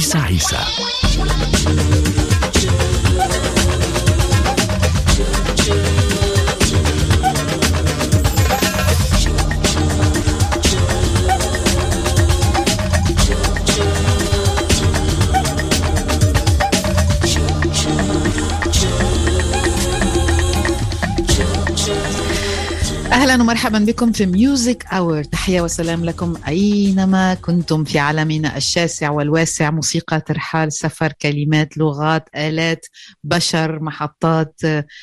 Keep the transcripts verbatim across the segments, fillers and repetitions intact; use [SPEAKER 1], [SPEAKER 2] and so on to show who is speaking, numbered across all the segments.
[SPEAKER 1] عيسى عيسى.
[SPEAKER 2] أهلا ومرحبا بكم في ميوزك أور. تحية وسلام لكم أينما كنتم في عالمنا الشاسع والواسع. موسيقى، ترحال، سفر، كلمات، لغات، آلات، بشر، محطات،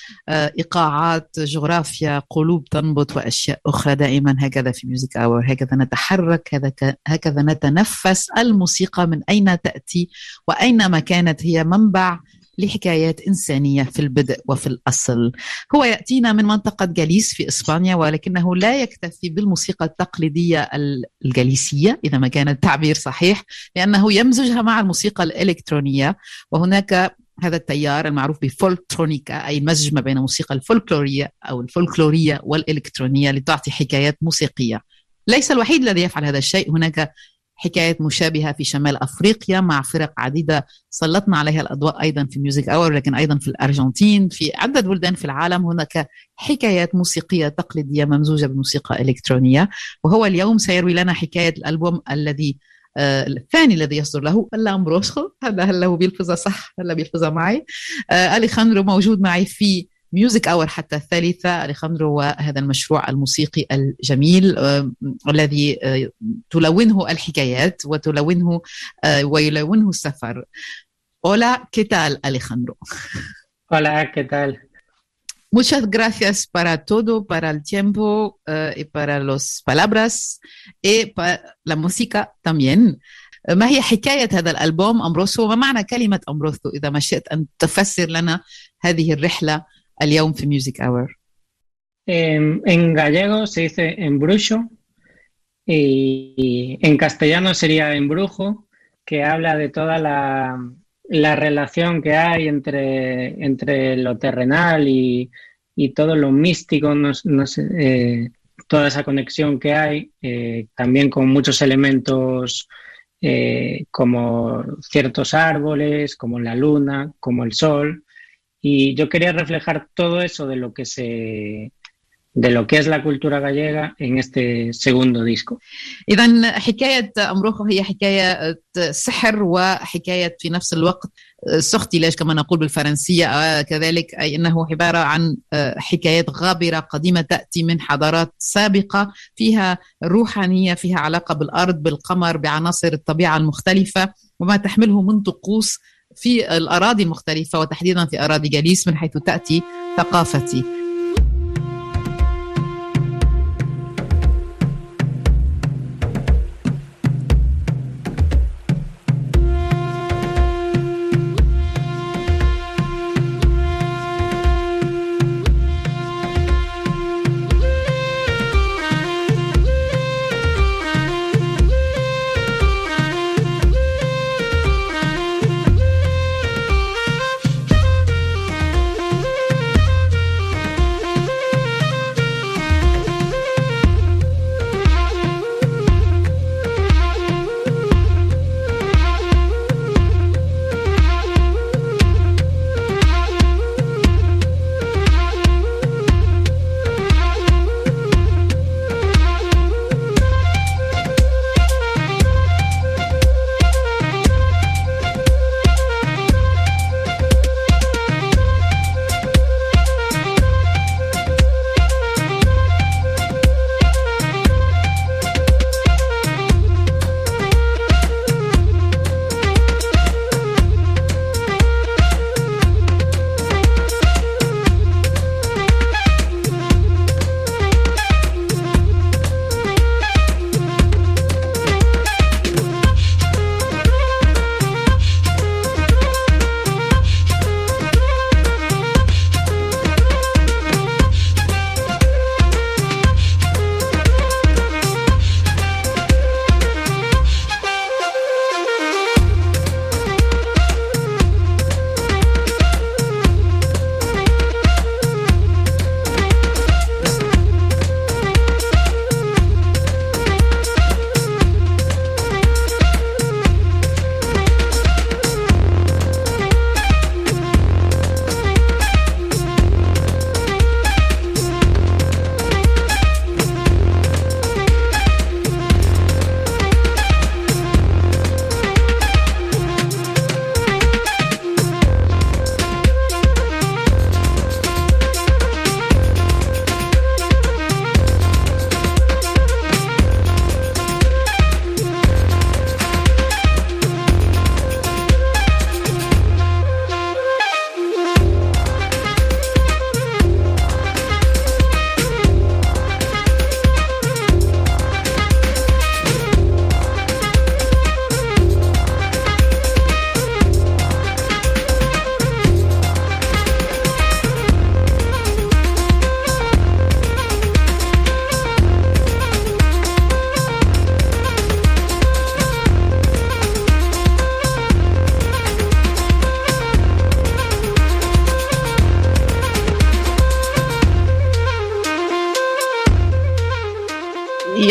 [SPEAKER 2] إيقاعات، جغرافيا، قلوب تنبض وأشياء أخرى. دائما هكذا في ميوزك أور، هكذا نتحرك، هكذا نتنفس الموسيقى من أين تأتي وأينما كانت هي منبع لحكايات إنسانية في البدء وفي الأصل. هو يأتينا من منطقة جاليس في إسبانيا، ولكنه لا يكتفي بالموسيقى التقليدية الجاليسية إذا ما كان التعبير صحيح، لأنه يمزجها مع الموسيقى الإلكترونية. وهناك هذا التيار المعروف بفولكترونيكا، أي مزج ما بين الموسيقى الفولكلورية أو الفولكلورية والإلكترونية لتعطي حكايات موسيقية. ليس الوحيد الذي يفعل هذا الشيء، هناك حكايات مشابهة في شمال أفريقيا مع فرق عديدة سلطنا عليها الأضواء أيضا في ميوزك أور، لكن أيضا في الأرجنتين، في عدة بلدان في العالم هناك حكايات موسيقية تقليدية ممزوجة بموسيقى إلكترونية. وهو اليوم سيروي لنا حكاية الألبوم الذي آه الثاني الذي يصدر له الامبروسو. هذا هلا هو بيلفظها صح، هلا بيلفظها معي. آه أليخاندرو موجود معي في ميوزك أور حتى الثالثة. أليخاندرو وهذا المشروع الموسيقي الجميل آه الذي آه تلونه الحكايات وتلونه آه ويلونه السفر. Hola, ¿qué tal, Alejandro?
[SPEAKER 3] Hola, ¿qué tal?
[SPEAKER 2] Muchas gracias para todo, para el tiempo uh, y para las palabras y para la música también. ما هي حكاية هذا الألبوم أمبروسو؟ وما معنى كلمة أمبروسو إذا ما شئت أن تفسر لنا هذه الرحلة اليوم في ميوزك أور؟
[SPEAKER 3] En gallego se dice embruxo y en castellano sería embrujo, que habla de toda la... la relación que hay entre, entre lo terrenal y, y todo lo místico, no, no sé, eh, toda esa conexión que hay, eh, también con muchos elementos eh, como ciertos árboles, como la luna, como el sol, y yo quería reflejar todo eso de lo que se... de lo que es la cultura gallega en este segundo disco.
[SPEAKER 2] إذن حكاية أمبروخو هي حكاية سحر وحكاية في نفس الوقت سختلاج كما نقول بالفرنسية كذلك، أي أنه عبارة عن حكايات غابرة قديمة تأتي من حضارات سابقة فيها روحانية، فيها علاقة بالأرض، بالقمر، بعناصر الطبيعة المختلفة وما تحمله من طقوس في الأراضي المختلفة وتحديدا في أراضي جاليس من حيث تأتي ثقافتي.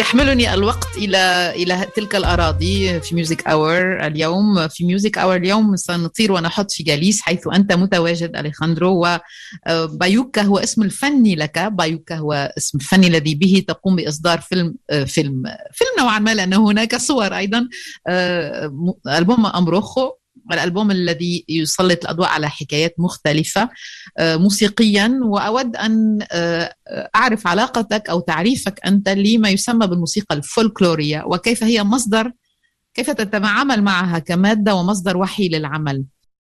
[SPEAKER 2] يحملني الوقت إلى إلى تلك الأراضي في ميوزك أور اليوم. في ميوزك أور اليوم سنطير ونحط في جاليس حيث أنت متواجد أليخاندرو، وبايوكا هو اسم الفني لك. بايوكا هو اسم الفني الذي به تقوم بإصدار فيلم فيلم فيلم نوعا ما، لأن هناك صور أيضا. ألبوم أمبروخو، الألبوم الذي يسلط الأضواء على حكايات مختلفة موسيقيا. وأود أن أعرف علاقتك أو تعريفك أنت لما يسمى بالموسيقى الفولكلورية، وكيف هي مصدر، كيف تتعامل معها كمادة ومصدر وحي للعمل.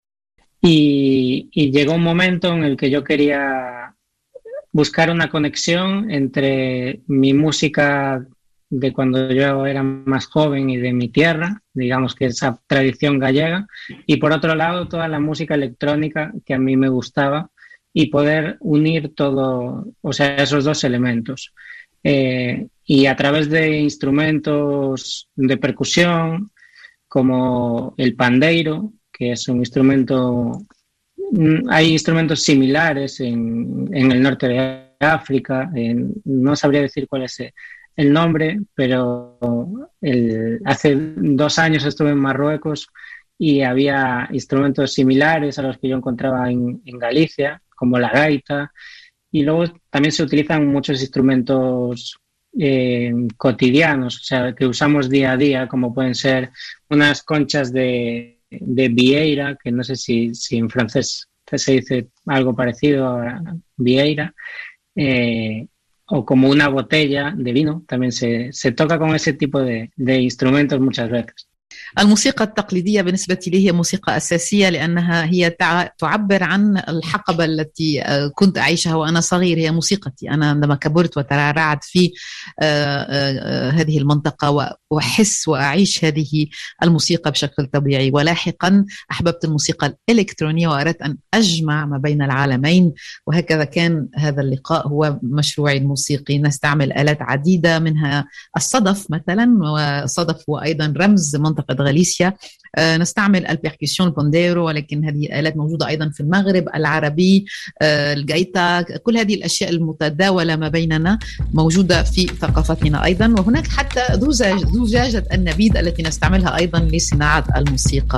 [SPEAKER 3] Y, y llegó un momento en el que yo quería buscar una conexión entre mi música de cuando yo era más joven y de mi tierra, digamos que esa tradición gallega, y por otro lado toda la música electrónica que a mí me gustaba, y poder unir todo, o sea, esos dos elementos. Eh, y a través de instrumentos de percusión como el pandeiro, que es un instrumento, hay instrumentos similares en, en el norte de África, en, no sabría decir cuál es el nombre, pero el, hace dos años estuve en Marruecos y había instrumentos similares a los que yo encontraba en, en Galicia, como la gaita, y luego también se utilizan muchos instrumentos eh, cotidianos, o sea, que usamos día a día, como pueden ser unas conchas de, de vieira, que no sé si, si en francés se dice algo parecido a vieira, eh, o como una botella de vino, también se, se toca con ese tipo de, de instrumentos muchas veces.
[SPEAKER 2] الموسيقى التقليدية بالنسبة لي هي موسيقى أساسية، لأنها هي تعبر عن الحقبة التي كنت أعيشها وأنا صغير. هي موسيقتي أنا عندما كبرت وترعرعت في هذه المنطقة، وأحس وأعيش هذه الموسيقى بشكل طبيعي. ولاحقا أحببت الموسيقى الإلكترونية وأردت أن أجمع ما بين العالمين، وهكذا كان هذا اللقاء هو مشروعي الموسيقي. نستعمل آلات عديدة، منها الصدف مثلا، والصدف هو أيضا رمز منطقة غاليسيا. نستعمل البيركسيون البونديرو، ولكن هذه الآلات موجودة أيضا في المغرب العربي، الجايتا. كل هذه الأشياء المتداولة ما بيننا موجودة في ثقافتنا أيضا. وهناك حتى زجاجة النبيذ التي نستعملها أيضا لصناعة الموسيقى.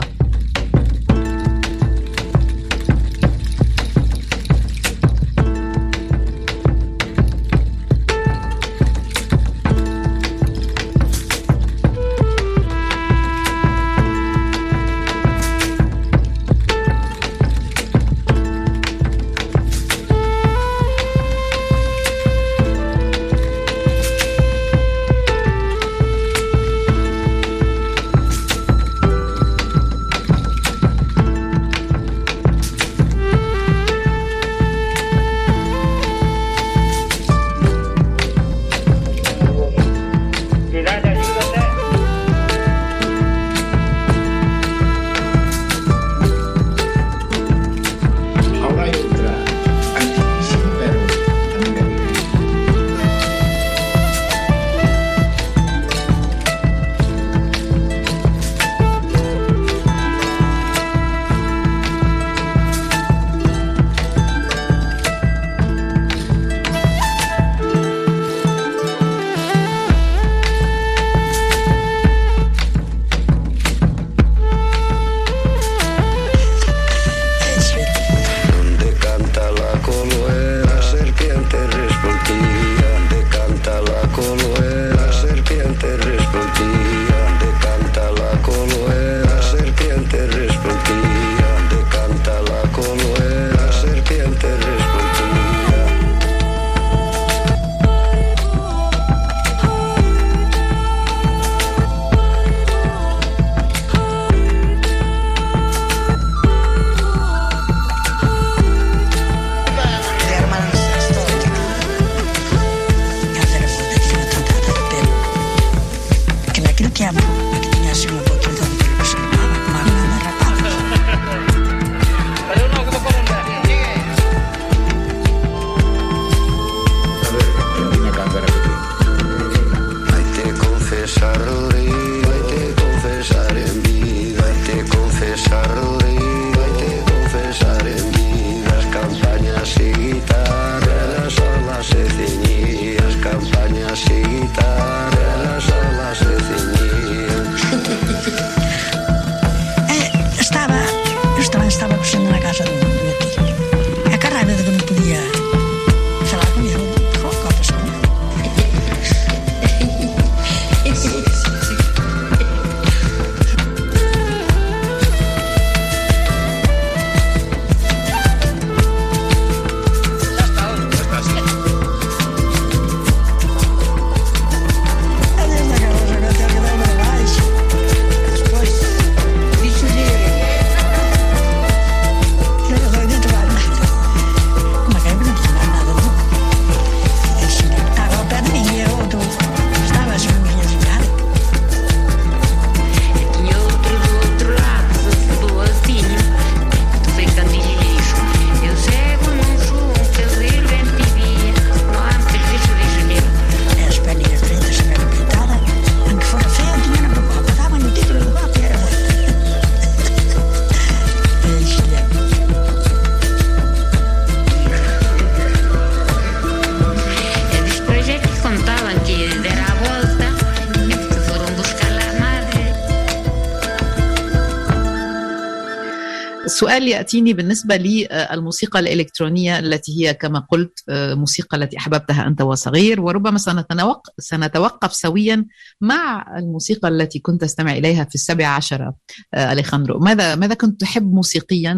[SPEAKER 2] سؤال يأتيني بالنسبة للموسيقى الإلكترونية التي هي كما قلت موسيقى التي أحببتها أنت وصغير، وربما سنتوقف, سنتوقف سويا مع الموسيقى التي كنت تستمع إليها في السابعة عشرة. أليخاندرو، ماذا ماذا كنت تحب موسيقيا،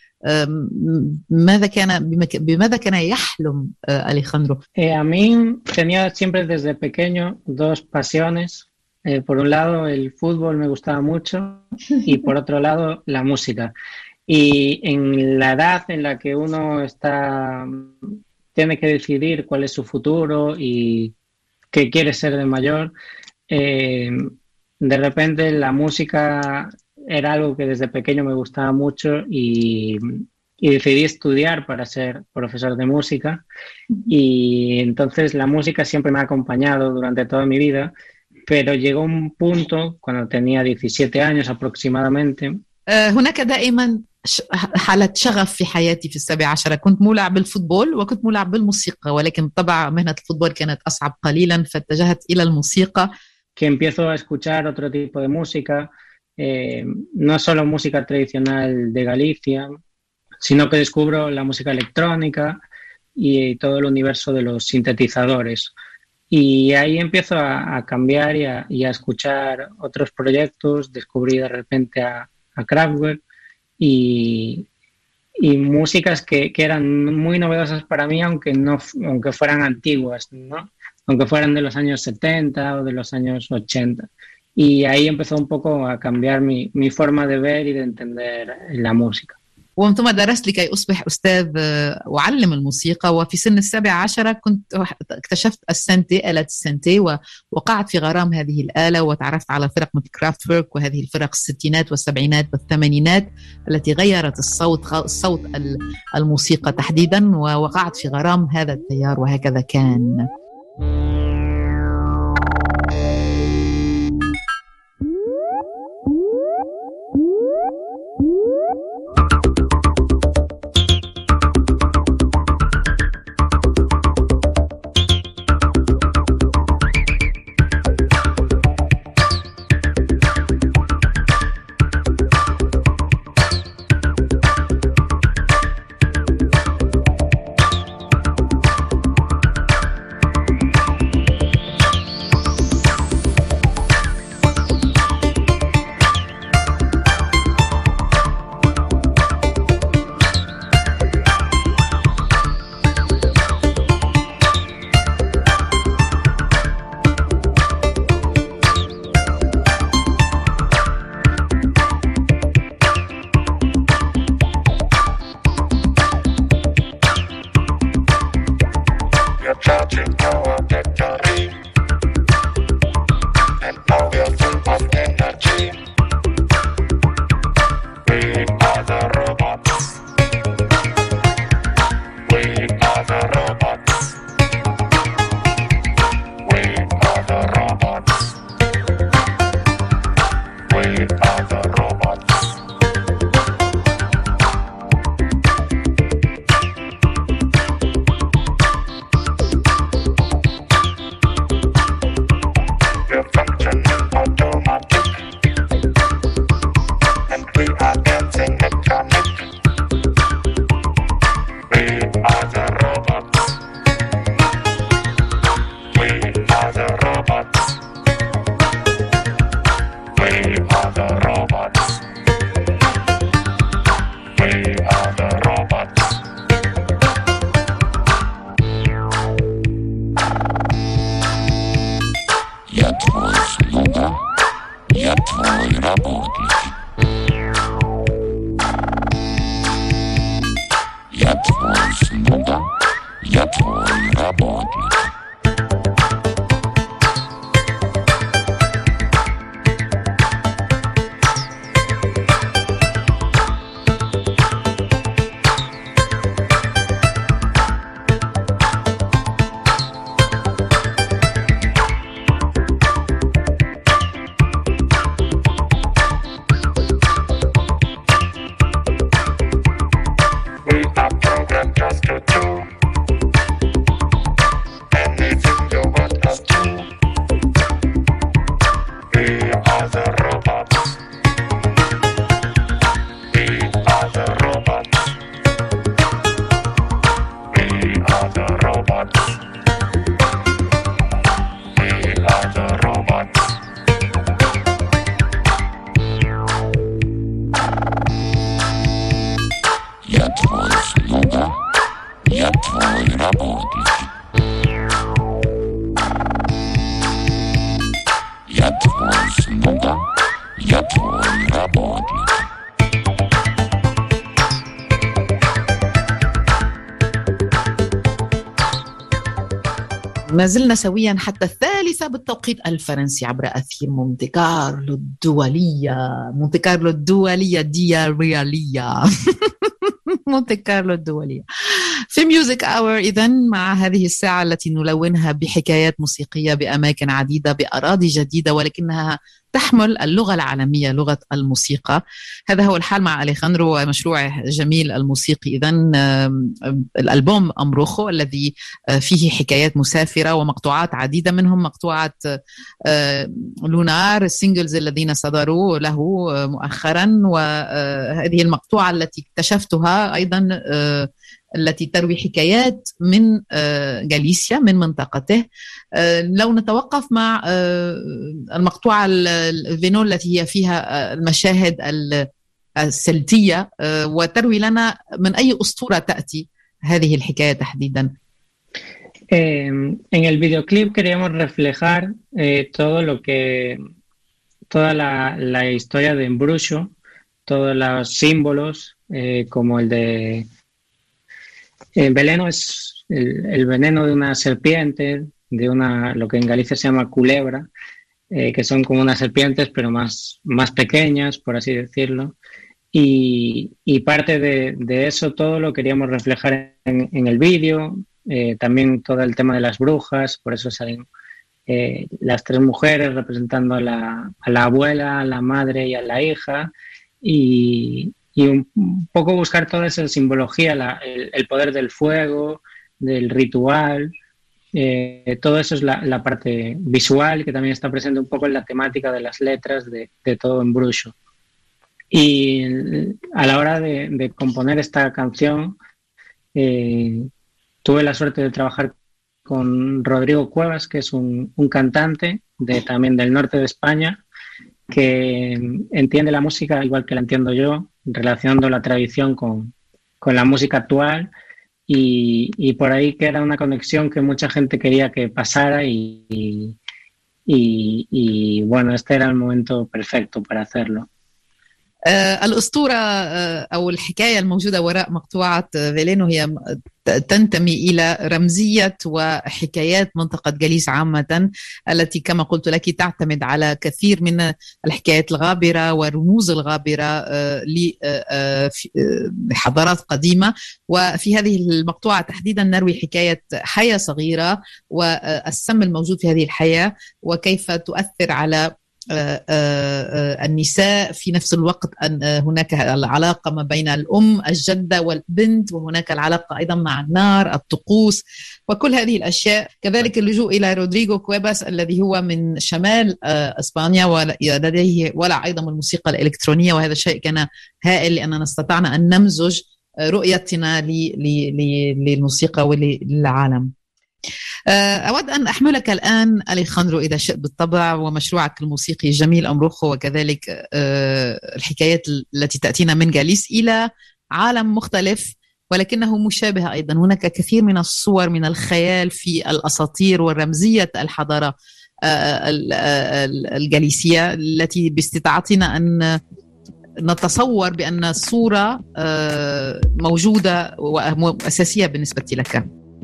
[SPEAKER 2] وماذا كان بماذا كان يحلم أليخاندرو؟
[SPEAKER 3] A mí tenía siempre desde pequeño dos pasiones. Eh, por un lado, el fútbol me gustaba mucho y por otro lado, la música. Y en la edad en la que uno está, tiene que decidir cuál es su futuro y qué quiere ser de mayor, eh, de repente la música era algo que desde pequeño me gustaba mucho y, y decidí estudiar para ser profesor de música. Y entonces la música siempre me ha acompañado durante toda mi vida. Pero llegó un punto cuando tenía diecisiete años aproximadamente.
[SPEAKER 2] هناك دائما حالة شغف في حياتي في السابعة عشرة. كنت مولع بالفوتبول وكنت مولع بالموسيقى، ولكن بالطبع مهنة الفوتبول كانت أصعب قليلا، فاتجهت إلى الموسيقى.
[SPEAKER 3] Que empiezo a escuchar otro tipo de música, eh, no solo música tradicional de Galicia, sino que descubro la música electrónica y todo el universo de los sintetizadores. Y ahí empiezo a, a cambiar y a, y a escuchar otros proyectos. Descubrí de repente a, a Kraftwerk y, y músicas que, que eran muy novedosas para mí, aunque, no, aunque fueran antiguas, ¿no? Aunque fueran de los años setenta o de los años ochenta. Y ahí empezó un poco a cambiar mi, mi forma de ver y de entender la música.
[SPEAKER 2] ومن ثم درست لكي أصبح أستاذ وأعلم الموسيقى، وفي سن السابعة عشرة كنت اكتشفت السنتي، آلة السنتي، ووقعت في غرام هذه الآلة، وتعرفت على فرق مثل كرافتورك وهذه الفرق الستينات والسبعينات والثمانينات التي غيرت الصوت الصوت الموسيقى تحديدا، ووقعت في غرام هذا التيار، وهكذا كان. ما زلنا سويا حتى الثالثة بالتوقيت الفرنسي عبر أثير مونتي كارلو الدولية. مونتي كارلو الدولية ديا ريالية مونتي كارلو الدولية في ميوزك أور. إذن مع هذه الساعة التي نلونها بحكايات موسيقية بأماكن عديدة بأراضي جديدة، ولكنها تحمل اللغة العالمية، لغة الموسيقى. هذا هو الحال مع أليخاندرو ومشروعه جميل الموسيقي. إذن الألبوم أمبروخو الذي فيه حكايات مسافرة ومقطوعات عديدة، منهم مقطوعة لونار، السينجلز الذين صدروا له مؤخرا. وهذه المقطوعة التي اكتشفتها أيضا التي تروي حكايات من غاليسيا، من منطقته. لو نتوقف مع المقطوعة الفينو التي هي فيها المشاهد السلتية، وتروي لنا من أي أسطورة تأتي هذه الحكاية تحديدا.
[SPEAKER 3] En el videoclip queríamos reflejar eh, todo lo que, toda la, la historia de Embruxo, todos los símbolos, eh, como el de el veneno es el, el veneno de una serpiente, de una, lo que en Galicia se llama culebra, eh, que son como unas serpientes pero más, más pequeñas, por así decirlo. Y, y parte de, de eso todo lo queríamos reflejar en, en el vídeo. Eh, también todo el tema de las brujas, por eso salen eh, las tres mujeres representando a la, a la abuela, a la madre y a la hija, y, y un, un poco buscar toda esa simbología, la, el, el poder del fuego, del ritual, eh, todo eso es la, la parte visual que también está presente un poco en la temática de las letras de, de todo Embruxo. Y a la hora de, de componer esta canción, eh, tuve la suerte de trabajar con Rodrigo Cuevas, que es un, un cantante de, también del norte de España, que entiende la música igual que la entiendo yo, relacionando la tradición con, con la música actual, y, y por ahí que era una conexión que mucha gente quería que pasara y, y, y, y bueno, este era el momento perfecto para hacerlo.
[SPEAKER 2] الأسطورة أو الحكاية الموجودة وراء مقطوعة فيلينو هي تنتمي إلى رمزية وحكايات منطقة جاليس عامة، التي كما قلت لك تعتمد على كثير من الحكايات الغابرة والرموز الغابرة لحضارات قديمة. وفي هذه المقطوعة تحديدا نروي حكاية حياة صغيرة والسم الموجود في هذه الحياة، وكيف تؤثر على النساء. في نفس الوقت أن هناك العلاقة ما بين الأم الجدة والبنت، وهناك العلاقة أيضا مع النار، الطقوس، وكل هذه الأشياء. كذلك اللجوء إلى رودريغو كويباس الذي هو من شمال إسبانيا ولديه ولا أيضا الموسيقى الإلكترونية، وهذا شيء كان هائل لأننا استطعنا أن نمزج رؤيتنا للموسيقى وللعالم. أود أن أحملك الآن أليخاندرو إذا شئت بالطبع ومشروعك الموسيقي جميل أمبروخو، وكذلك الحكايات التي تأتينا من جاليس إلى عالم مختلف ولكنه مشابه أيضا. هناك كثير من الصور من الخيال في الأساطير والرمزية الحضارة الجاليسية التي باستطاعتنا أن نتصور بأن الصورة موجودة وأساسية بالنسبة لك.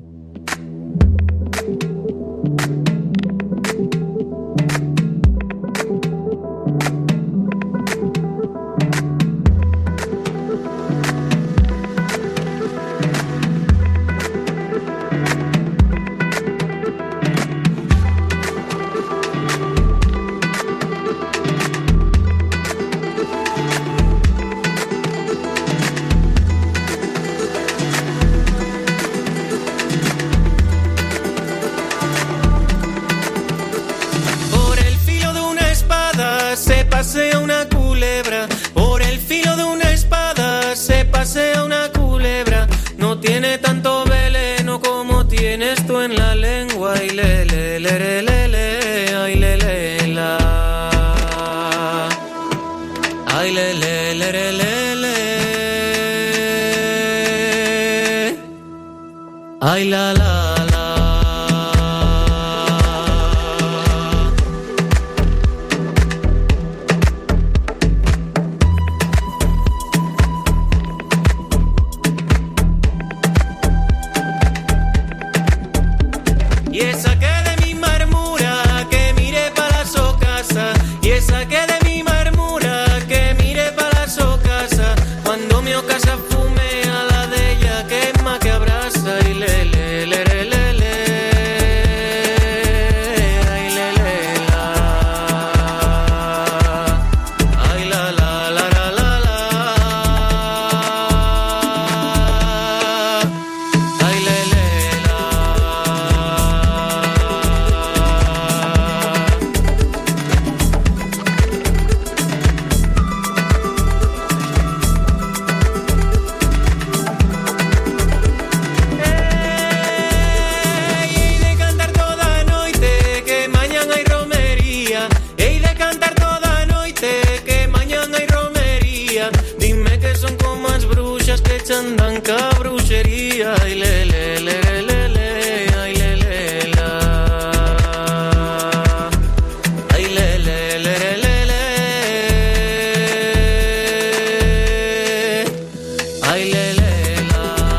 [SPEAKER 1] pasea una culebra, por el filo de una espada se pasea una culebra, no tiene tanto veneno como tienes tú en la lengua, y le le le le le le, ay le le la, ay le le le le le le, ay la la. Y esa que son como as bruxas que chandan ca bruxería. Ay, le, le, le, le, le, ay, le, le, la. Ay, le, le, le, le, le, ay, le, le, la.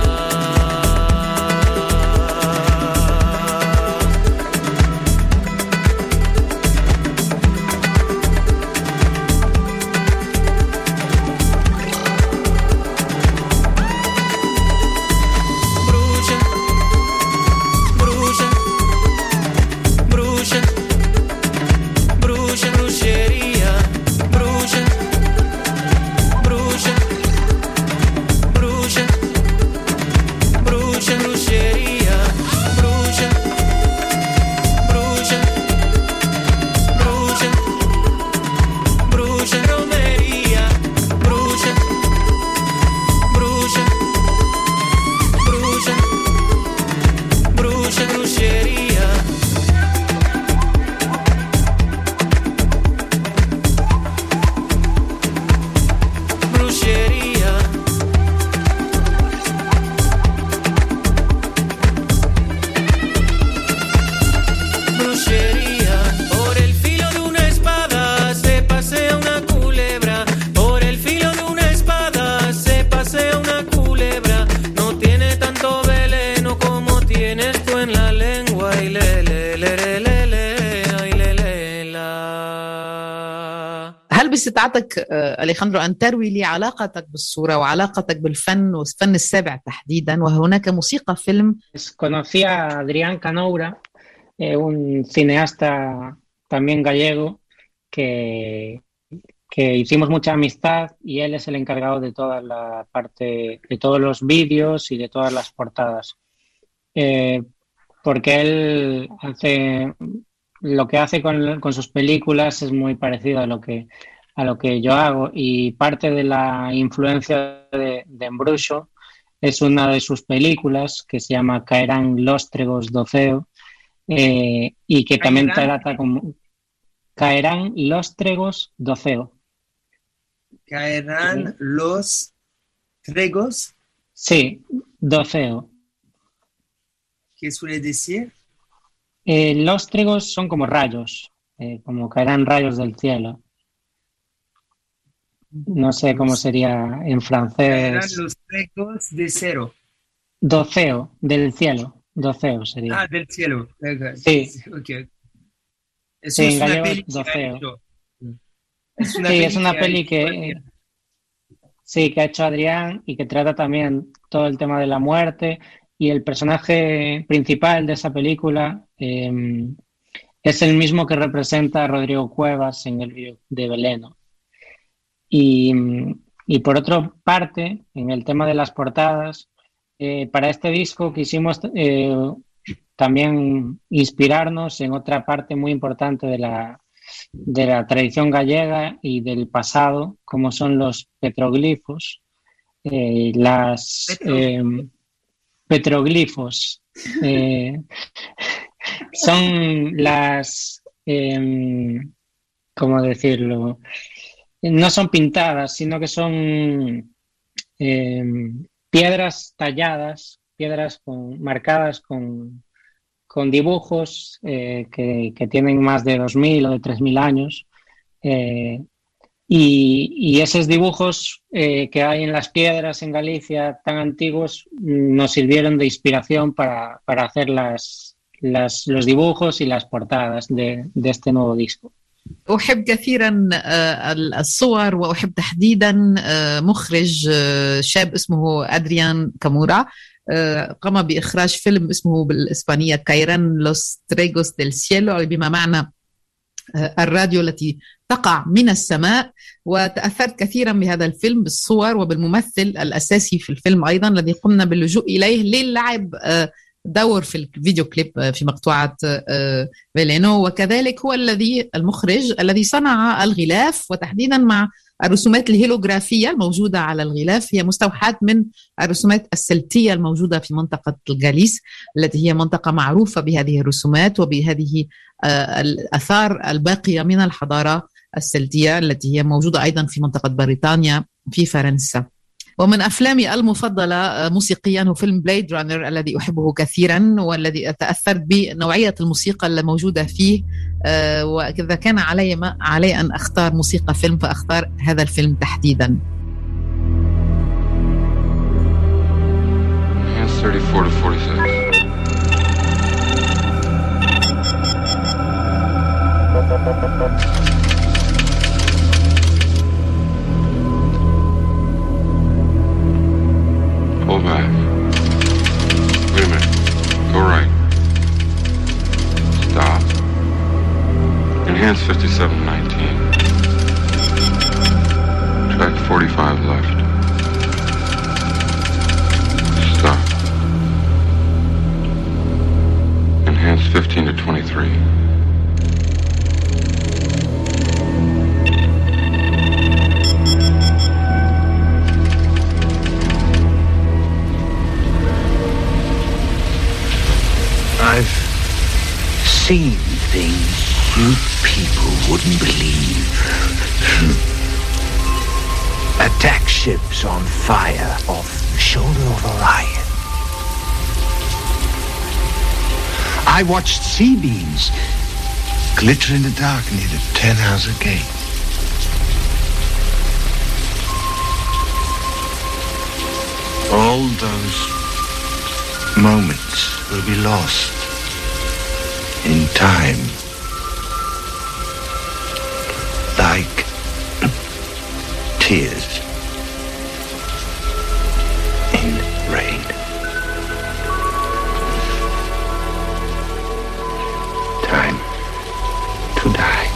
[SPEAKER 2] باستطاعتك أليخاندرو أن تروي لي علاقتك بالصورة وعلاقتك بالفن والفن السابع تحديدا، وهناك موسيقى فيلم.
[SPEAKER 3] Conocí a Adrián Canoura, eh, un cineasta también gallego que, que hicimos mucha amistad, y él es el encargado de toda la parte, de todos los vídeos y de todas las portadas. Eh, porque él hace, lo que hace con, con sus películas es muy parecido a lo que a lo que yo hago, y parte de la influencia de, de Embruxo es una de sus películas que se llama Caerán Lóstregos do Ceo, eh, y que también trata como Caerán Lóstregos do Ceo.
[SPEAKER 4] Caerán ¿Sí? los tregos.
[SPEAKER 3] Sí, do Ceo.
[SPEAKER 4] ¿Qué suele decir?
[SPEAKER 3] Eh, lóstregos son como rayos, eh, como caerán rayos del cielo. No sé cómo sería en francés.
[SPEAKER 4] Eran los tregos de cero.
[SPEAKER 3] Doceo, del cielo. Doceo sería.
[SPEAKER 4] Ah, del cielo. Okay.
[SPEAKER 3] Sí.
[SPEAKER 4] Okay.
[SPEAKER 3] Eso sí, es, una peli doceo. Es una sí, peli es una peli que, que sí, que ha hecho Adrián, y que trata también todo el tema de la muerte, y el personaje principal de esa película eh, es el mismo que representa a Rodrigo Cuevas en el vídeo de Veleno. Y, y por otra parte, en el tema de las portadas, eh, para este disco quisimos eh, también inspirarnos en otra parte muy importante de la, de la tradición gallega y del pasado, como son los petroglifos, eh, las eh, petroglifos, eh, son las, eh, ¿cómo decirlo? No son pintadas, sino que son eh, piedras talladas, piedras con, marcadas con, con dibujos eh, que, que tienen más de dos mil o de tres mil años. Eh, y, y esos dibujos eh, que hay en las piedras en Galicia tan antiguos nos sirvieron de inspiración para, para hacer las, las, los dibujos y las portadas de, de este nuevo disco.
[SPEAKER 2] أحب كثيرا الصور، وأحب تحديدا مخرج شاب اسمه أدريان كامورا، قام بإخراج فيلم اسمه بالإسبانية كايران لوس تريغوس ديل سيلو، بما معنى الراديو التي تقع من السماء. وتأثرت كثيرا بهذا الفيلم، بالصور وبالممثل الأساسي في الفيلم أيضا الذي قمنا باللجوء إليه للعب دور في الفيديو كليب في مقطوعة فيلينو، وكذلك هو الذي المخرج الذي صنع الغلاف، وتحديدا مع الرسومات الهيلوغرافية الموجودة على الغلاف، هي مستوحاة من الرسومات السلتية الموجودة في منطقة الغاليس، التي هي منطقة معروفة بهذه الرسومات وبهذه الآثار الباقية من الحضارة السلتية التي هي موجودة أيضا في منطقة بريطانيا في فرنسا. ومن أفلامي المفضلة موسيقيا هو فيلم بليد رانر الذي أحبه كثيرا، والذي تأثرت بنوعية الموسيقى الموجودة فيه. وإذا كان علي ما علي أن أختار موسيقى فيلم فأختار هذا الفيلم تحديدا.
[SPEAKER 5] thirty-four to forty-six. Pull back. Wait a minute. Go right. Stop. Enhance fifty-seven nineteen. Track forty-five left. Stop. Enhance fifteen to twenty-three.
[SPEAKER 6] I've seen things you people wouldn't believe. Attack ships on fire off the shoulder of Orion. I watched sea beams glitter in the dark near the Tannhauser Gate. All those moments will be lost in time, like tears in rain. Time to die.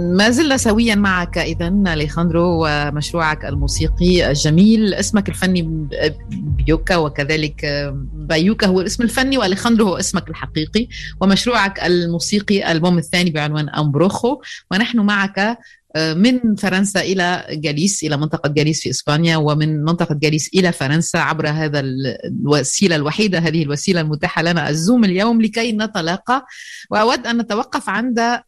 [SPEAKER 2] ما زلنا سويا معك إذن أليخاندرو ومشروعك الموسيقي الجميل. اسمك الفني بيوكا وكذلك بايوكا هو الاسم الفني، وأليخاندرو هو اسمك الحقيقي، ومشروعك الموسيقي الألبوم الثاني بعنوان أمبروخو. ونحن معك من فرنسا إلى جاليس، إلى منطقة جاليس في إسبانيا، ومن منطقة جاليس إلى فرنسا عبر هذا الوسيلة الوحيدة، هذه الوسيلة المتاحة لنا، الزوم اليوم، لكي نتلاقى. وأود أن نتوقف عند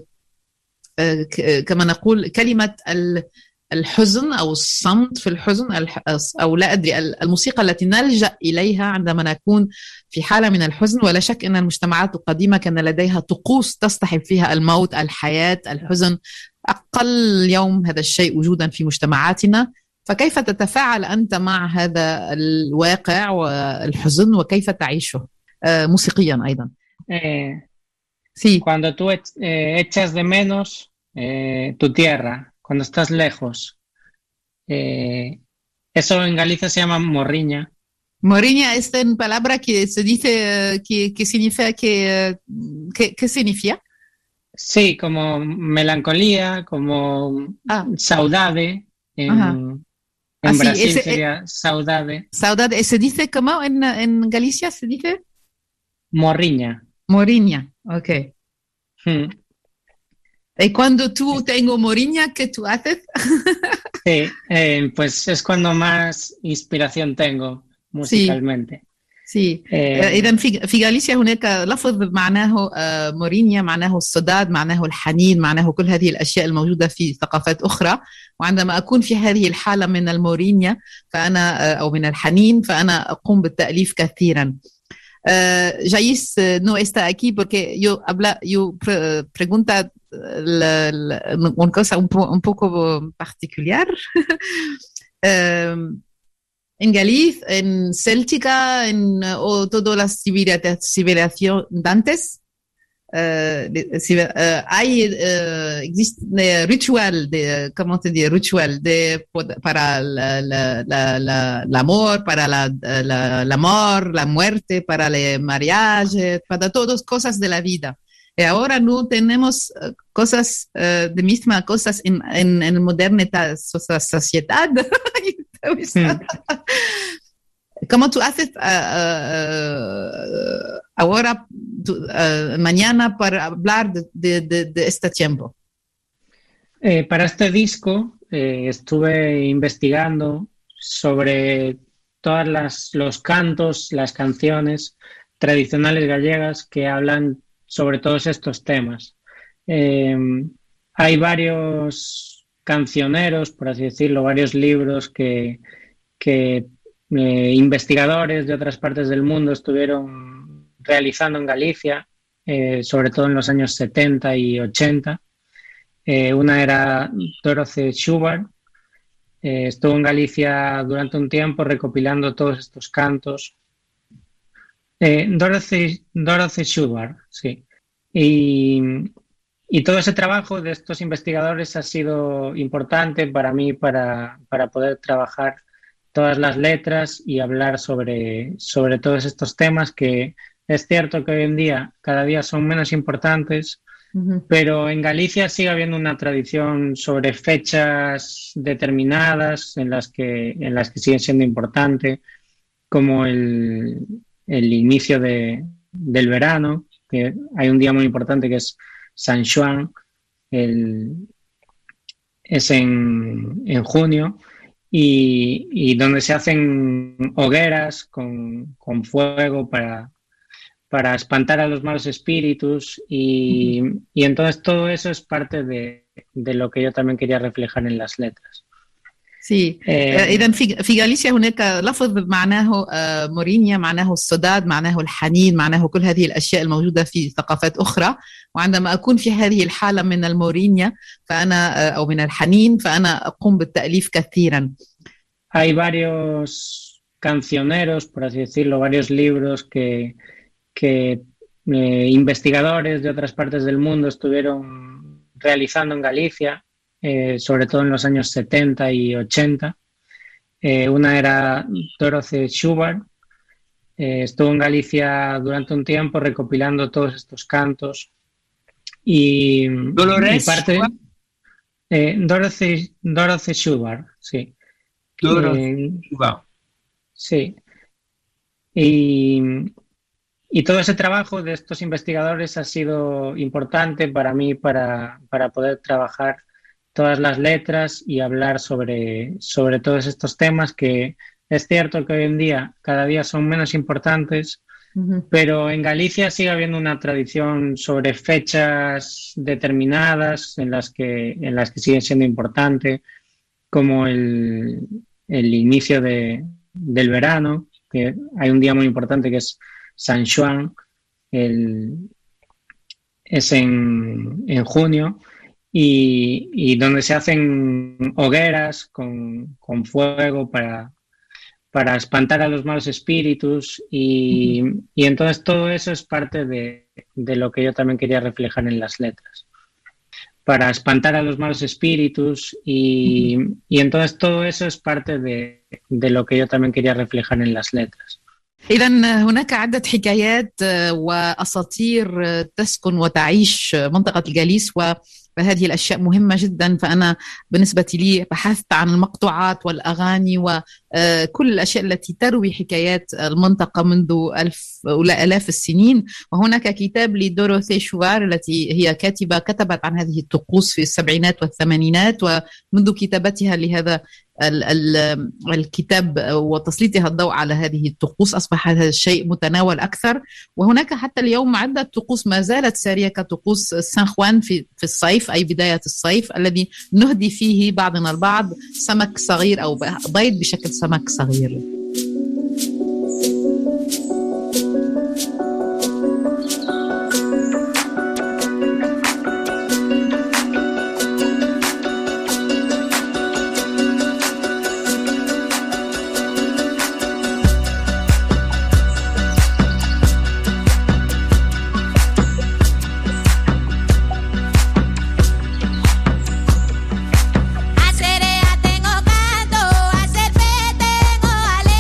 [SPEAKER 2] كما نقول كلمة الحزن أو الصمت في الحزن، أو لا أدري، الموسيقى التي نلجأ إليها عندما نكون في حالة من الحزن. ولا شك أن المجتمعات القديمة كان لديها طقوس تصطحب فيها الموت، الحياة، الحزن. أقل اليوم هذا الشيء وجودا في مجتمعاتنا. فكيف تتفاعل أنت مع هذا الواقع والحزن، وكيف تعيشه موسيقيا أيضا؟
[SPEAKER 3] Eh,
[SPEAKER 2] sí.
[SPEAKER 3] Cuando tú eh, echas de menos eh, tu tierra, cuando estás lejos, eh, eso en Galicia se llama morriña.
[SPEAKER 2] Morriña es una palabra que se dice que, que significa que, que, ¿qué significa?
[SPEAKER 3] Sí, como melancolía, como
[SPEAKER 2] ah.
[SPEAKER 3] saudade. En, en
[SPEAKER 2] ah,
[SPEAKER 3] Brasil
[SPEAKER 2] sí, ese,
[SPEAKER 3] sería saudade.
[SPEAKER 2] Saudade, ¿se dice cómo en, en Galicia se dice?
[SPEAKER 3] Morriña.
[SPEAKER 2] Morriña, ok.
[SPEAKER 3] Hmm.
[SPEAKER 2] ¿Y cuando tú tengo morriña, qué tú haces?
[SPEAKER 3] Sí, eh, pues es cuando más inspiración tengo musicalmente.
[SPEAKER 2] Sí. إذا في في غاليسيا هناك لفظ معناه مورينيا، معناه الصداد، معناه الحنين، معناه كل هذه الأشياء الموجودة في ثقافات أخرى. وعندما أكون في هذه الحالة من المورينيا فأنا أو من الحنين فأنا أقوم بالتأليف كثيرا. Jais no está aquí porque yo habla, yo pre, pregunta la, la, una cosa un, po, un poco particular. um, En Galicia, en Céltica, en o todas las civilizaciones antes, uh, uh, hay uh, existe ritual de, ¿cómo te digo? Ritual de para la, la, la, la, el amor, para la, la, el amor, la muerte, para el mariage, para todas cosas de la vida. Y ahora no tenemos cosas uh, de mismas cosas en en, en moderna sociedad. Hmm. ¿Cómo tú haces uh, uh, ahora, tu, uh, mañana, para hablar de, de, de, de este tiempo?
[SPEAKER 3] Eh, para este disco eh, estuve investigando sobre todas las los cantos, las canciones tradicionales gallegas que hablan sobre todos estos temas. Eh, hay varios cancioneros, por así decirlo, varios libros que, que eh, investigadores de otras partes del mundo estuvieron realizando en Galicia, eh, sobre todo en los años setenta y ochenta. Eh, una era Dorothy Schubart, eh, estuvo en Galicia durante un tiempo recopilando todos estos cantos. Eh, Dorothy, Dorothy Schubart, sí. Y... Y todo ese trabajo de estos investigadores ha sido importante para mí para, para poder trabajar todas las letras y hablar sobre, sobre todos estos temas que es cierto que hoy en día cada día son menos importantes, uh-huh. Pero en Galicia sigue habiendo una tradición sobre fechas determinadas en las que, en las que siguen siendo importantes, como el, el inicio de, del verano, que hay un día muy importante que es San Juan, el, es en, en junio, y, y donde se hacen hogueras con, con fuego para, para espantar a los malos espíritus, y, y entonces todo eso es parte de, de lo que yo también quería reflejar en las letras.
[SPEAKER 2] سي إذا في في غاليسيا هناك لفظ معناه مورينيا، معناه الصداد، معناه الحنين، معناه كل هذه الأشياء الموجودة في ثقافات أخرى. وعندما أكون في هذه الحالة من المورينيا فأنا أو من الحنين فأنا أقوم بالتأليف كثيرا.
[SPEAKER 3] Hay varios cancioneros, por así decirlo, varios libros que, que eh, investigadores de otras partes del mundo estuvieron realizando en Galicia. Eh, sobre todo en los años setenta y ochenta. Eh, una era Dorothy Schubart, eh, estuvo en Galicia durante un tiempo recopilando todos estos cantos y,
[SPEAKER 4] Dolores
[SPEAKER 3] y parte, Eh, Dorothy, Dorothy Schubart, sí.
[SPEAKER 4] Dorothy
[SPEAKER 3] Eh,
[SPEAKER 4] Schubart.
[SPEAKER 3] sí. Y, y todo ese trabajo de estos investigadores ha sido importante para mí para, para poder trabajar todas las letras y hablar sobre, sobre todos estos temas que es cierto que hoy en día cada día son menos importantes, uh-huh. pero en Galicia sigue habiendo una tradición sobre fechas determinadas en las que, en las que siguen siendo importantes, como el, el inicio de, del verano, que hay un día muy importante que es San Juan, el, es en, en junio, y, y donde se hacen hogueras con, con fuego para, para espantar a los malos espíritus, y, y entonces todo eso es parte de, de lo que yo también quería reflejar en las letras. Para espantar a los malos espíritus, y, y entonces todo eso es parte de, de lo que yo también quería reflejar en las letras.
[SPEAKER 2] إذن هناك عدة حكايات وأساطير تسكن وتعيش منطقة الجاليس، وهذه الأشياء مهمة جدا. فأنا بالنسبة لي بحثت عن المقطوعات والأغاني وكل الأشياء التي تروي حكايات المنطقة منذ ألف ولا آلاف السنين. وهناك كتاب لدوروثي شوفار التي هي كاتبة كتبت عن هذه الطقوس في السبعينات والثمانينات، ومنذ كتابتها لهذا الكتاب وتسليطها الضوء على هذه الطقوس أصبح هذا الشيء متناول أكثر. وهناك حتى اليوم عدة طقوس ما زالت سارية كطقوس سان خوان في في الصيف، أي بداية الصيف، الذي نهدي فيه بعضنا البعض سمك صغير أو بيض بشكل سمك صغير.
[SPEAKER 7] A sereia tengo gato, a serpente tengo ale.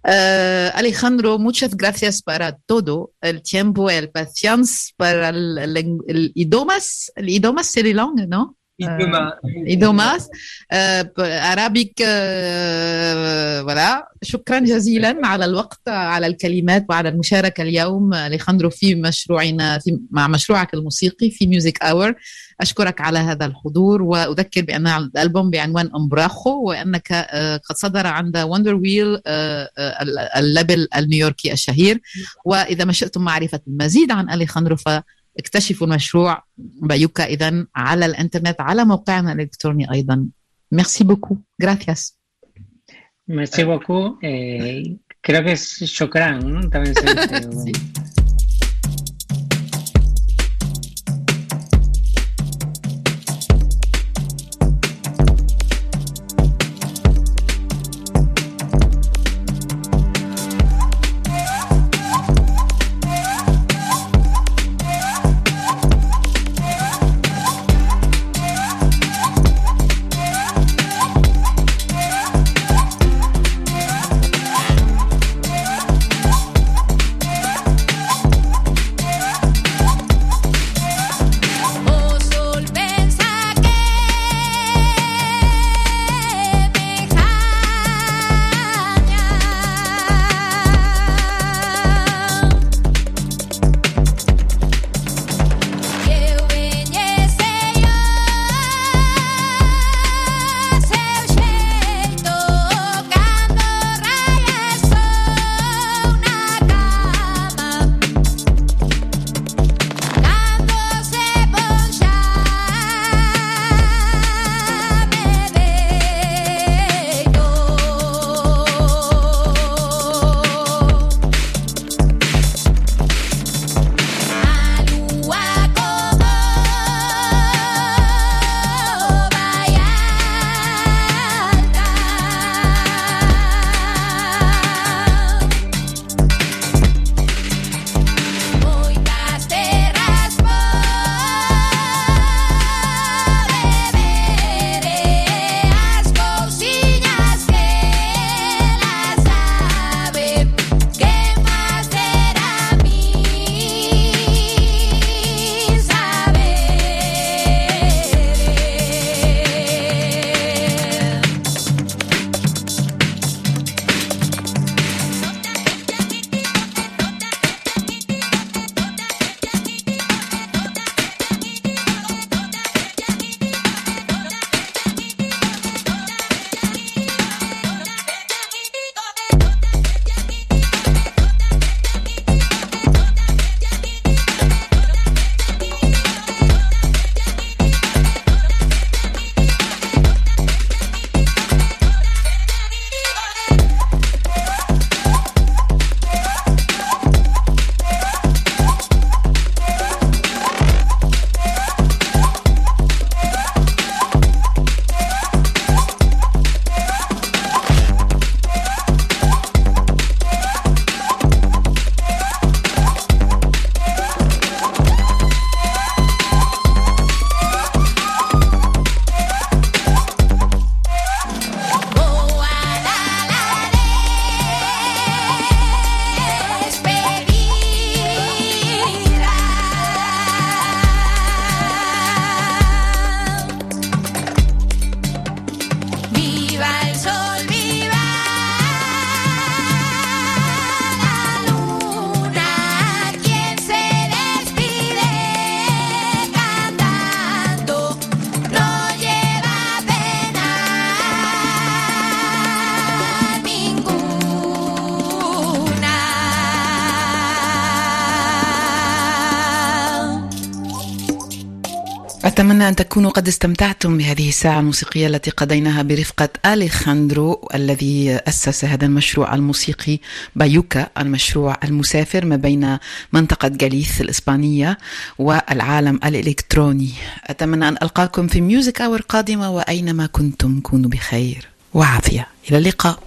[SPEAKER 2] Uh, Alejandro, muchas gracias para todo, el tiempo, el paciencia, para el, el, el idiomas, el idiomas c'est les langues, ¿no?
[SPEAKER 4] إدوما.
[SPEAKER 2] إدوماس عربيك ولا. شكرا جزيلا على الوقت، على الكلمات وعلى المشاركة اليوم أليخاندرو في مشروعنا في مع مشروعك الموسيقي في ميوزك آور. أشكرك على هذا الحضور، وأذكر بأن الألبوم بعنوان أمبراخو، وأنك قد صدر عند وندر ويل الليبل النيويوركي الشهير. وإذا ما شئتم معرفة المزيد عن أليخاندرو اكتشفوا المشروع بايوكا إذن على الانترنت على موقعنا الإلكتروني أيضا. Merci beaucoup. Gracias.
[SPEAKER 3] Merci beaucoup. Eh, creo que es shukran, ¿no? También se dice.
[SPEAKER 2] Sí. أتمنى أن تكونوا قد استمتعتم بهذه الساعة الموسيقية التي قضيناها برفقة أليخاندرو الذي أسس هذا المشروع الموسيقي بايوكا، المشروع المسافر ما بين منطقة غاليث الإسبانية والعالم الإلكتروني. أتمنى أن ألقاكم في ميوزك آور قادمة، وأينما كنتم كونوا بخير وعافية. إلى اللقاء.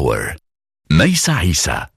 [SPEAKER 7] Hour. ميسة عيسى.